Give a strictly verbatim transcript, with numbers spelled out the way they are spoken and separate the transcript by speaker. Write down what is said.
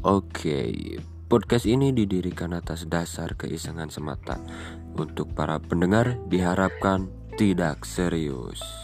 Speaker 1: Oke, podcast ini didirikan atas dasar keisengan semata. Untuk para pendengar diharapkan tidak serius.